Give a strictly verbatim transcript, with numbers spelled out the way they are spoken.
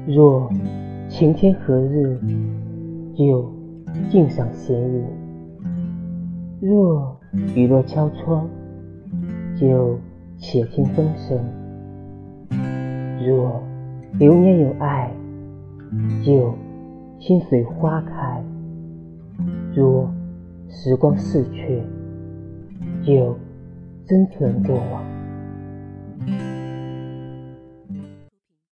若晴天何日，就静赏闲云；若雨落敲窗，就且听风声；若流年有爱，就心随花开；若时光逝去，就珍存过往。